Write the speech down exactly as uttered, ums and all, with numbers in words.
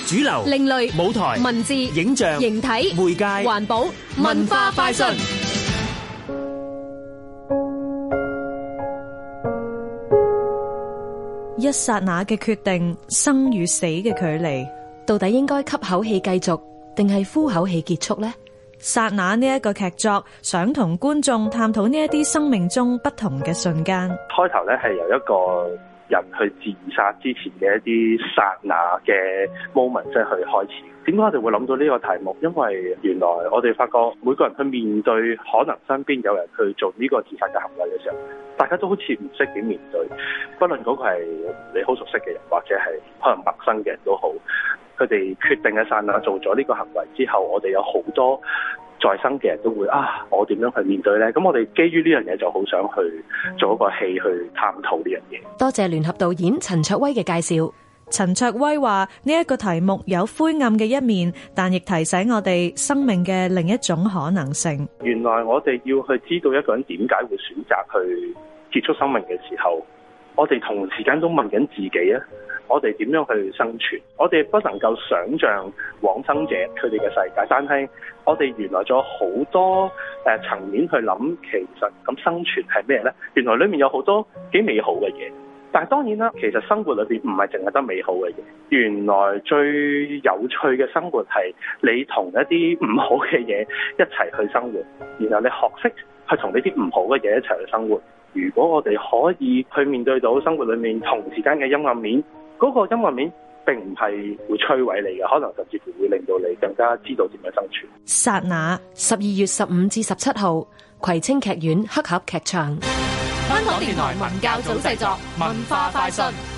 主流、 另類、 舞台、 文字、 影像、 形體、 媒介、 環保、文化快訊。 一剎那嘅決定，生與死嘅距離， 到底應該吸口氣繼續，定係呼口氣結束呢？ 剎那呢一個劇作，想同觀眾探討呢一啲生命中不同嘅瞬間。 開頭咧係由一個人去自殺之前嘅一啲剎那嘅 moment 即係去開始。點解我哋會諗到呢個題目？因為原來我哋發覺每個人去面對可能身邊有人去做呢個自殺嘅行為嘅時候，大家都好似唔識點面對。不論嗰個係你好熟悉嘅人，或者係可能陌生嘅人都好，佢哋決定嘅剎那做咗呢個行為之後，我哋有好多在生嘅人都會啊，我點樣去面對呢？咁我哋基於呢樣嘢就好想去做一個戲去探討呢樣嘢。 多謝聯合導演陳卓威嘅介紹。 陳卓威話呢一個題目有灰暗嘅一面，但亦提醒我哋生命嘅另一種可能性。 原來我哋要去知道一個人點解會選擇去結束生命嘅時候，我哋同時間都問緊自己啊，我哋點樣去生存？我哋不能夠想像往生者佢哋嘅世界，但係我哋原來仲有好多誒層面去諗，其實咁生存係咩呢？原來裡面有好多幾美好嘅嘢。但係當然啦，其實生活裏邊唔係淨係得美好嘅嘢。原來最有趣嘅生活係你同一啲唔好嘅嘢一齊去生活，然後你學識去同呢啲唔好嘅嘢一齊去生活。如果我哋可以去面對到生活裏面同時間嘅陰暗面，嗰個陰暗面並唔係會摧毀你嘅，可能甚至乎會令到你更加知道點樣生存。 剎那， 十二月十五至十七號，葵青劇院黑盒劇場。 香港電台文教組製作，文化快訊。